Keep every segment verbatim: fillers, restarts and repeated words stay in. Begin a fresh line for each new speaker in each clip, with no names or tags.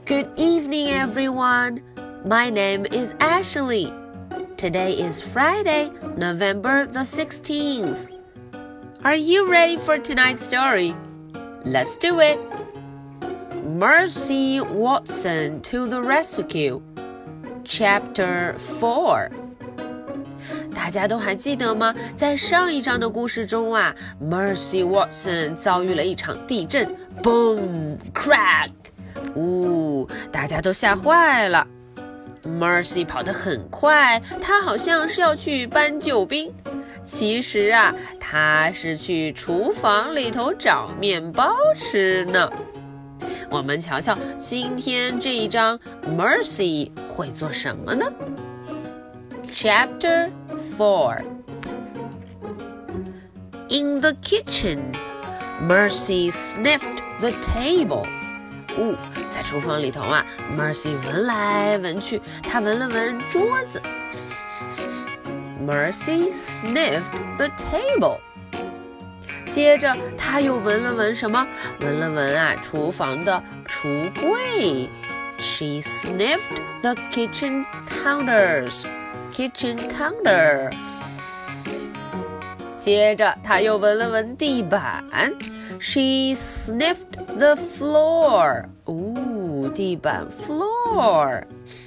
Good evening, everyone. My name is Ashley. Today is Friday, November the sixteenth. Are you ready for tonight's story? Let's do it. Mercy Watson to the Rescue. Chapter four.大家都还记得吗？在上一章的故事中啊 Mercy Watson 遭遇了一场地震 Boom! Crack! 呜、哦，大家都吓坏了。Mercy 跑得很快，她好像是要去搬救兵。其实啊，她是去厨房里头找面包吃呢。我们瞧瞧今天这一章 Mercy 会做什么呢？ Chapter four. In the kitchen, Mercy sniffed the table. 哦，在厨房里头啊 Mercy 闻来闻去，她闻了闻桌子。Mercy sniffed the table. 接着她又闻了闻什么？闻了闻啊厨房的橱柜。She sniffed the kitchen counters.Kitchen counter. 接着她又闻了闻地板 She sniffed the floor. 哦，地板 floor.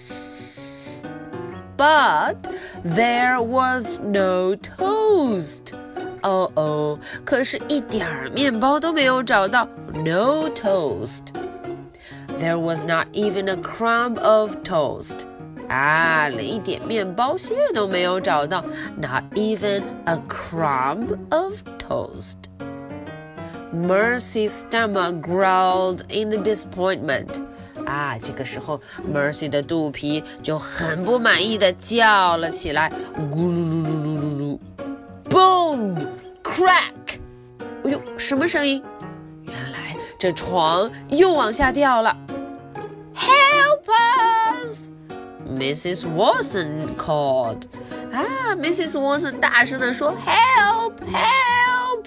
But there was no toast. 哦哦，可是一点面包都没有找到 No toast. There was not even a crumb of toast.啊，连一点面包屑都没有找到 Not even a crumb of toast. Mercy's stomach growled in disappointment. 啊，这个时候 Mercy 的肚皮就很不满意地叫了起来，咕噜噜噜噜噜噜 Boom! Crack! 哎呦，什么声音？原来这床又往下掉了。Help us!Missus Watson called. 啊 Missus Watson 大声地说 Help! Help!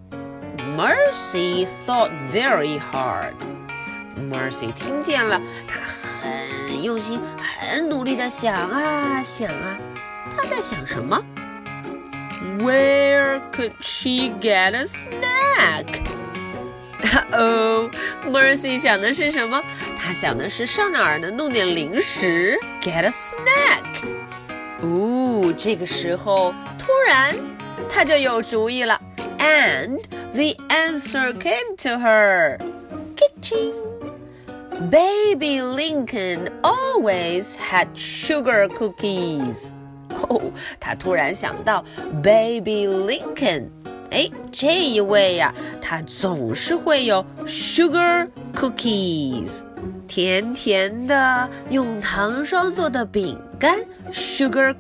Mercy thought very hard. Mercy 听见了，她很用心，很努力地想啊想啊，她在想什么？ Where could she get a snack?哦、oh, Mercy 想的是什么？她想的是上哪儿能弄点零食 Get a snack 哦，这个时候突然她就有主意了 And the answer came to her Kitchen Baby Lincoln always had sugar cookies 哦，她突然想到 Baby Lincoln哎，这一位呀、啊，他总是会有 sugar cookies， 甜甜的用糖霜做的饼干 sugar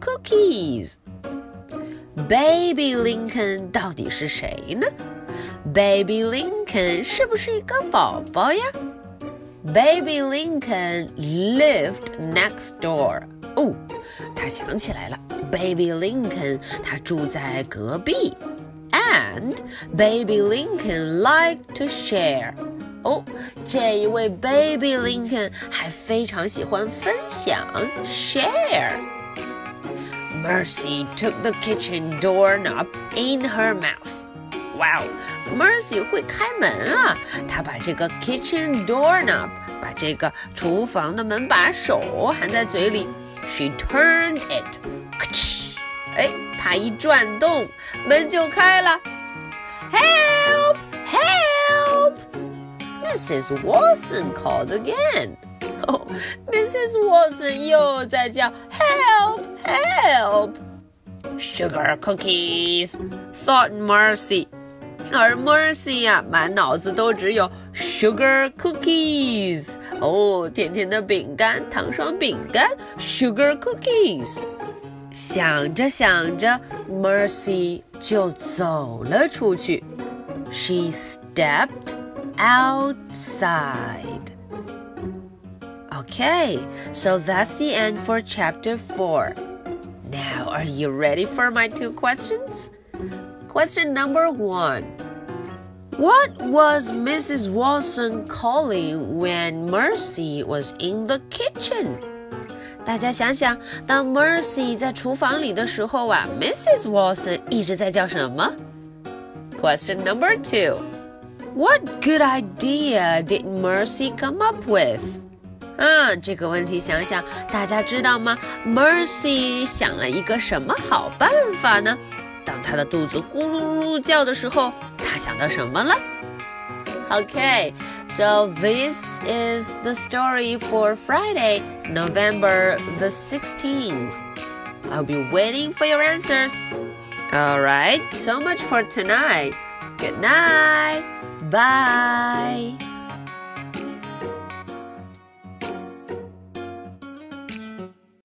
cookies。Baby Lincoln 到底是谁呢 ？Baby Lincoln 是不是一个宝宝呀 ？Baby Lincoln lived next door。哦，他想起来了 ，Baby Lincoln 他住在隔壁。And Baby Lincoln liked to share. 哦，这一位 Baby Lincoln 还非常喜欢分享 share. Mercy took the kitchen doorknob in her mouth. Wow, Mercy 会开门啊！她把这个 kitchen doorknob 把这个厨房的门把手含在嘴里 She turned it. 哎，她一转动，门就开了。Help! Help! Missus Watson called again. 哦 Missus Watson 又在叫 Help! Help! Sugar cookies, thought Mercy. 而 Mercy 呀、啊，满脑子都只有 sugar cookies. 哦，甜甜的饼干，糖霜饼干 sugar cookies.想着想着 Mercy 就走了出去 She stepped outside. Okay, so that's the end for chapter four. Now, are you ready for my two questions? Question number one. What was Missus Watson calling when Mercy was in the kitchen? 大家想想，当 Mercy 在厨房里的时候啊 ，Missus Watson 一直在叫什么？ Question number two. What good idea did Mercy come up with? 啊，这个问题想想，大家知道吗 ？Mercy 想了一个什么好办法呢？当她的肚子咕噜噜叫的时候，她想到什么了？ Okay, so this is the story for Friday, November the sixteenth. I'll be waiting for your answers. All right, so much for tonight. Good night. Bye.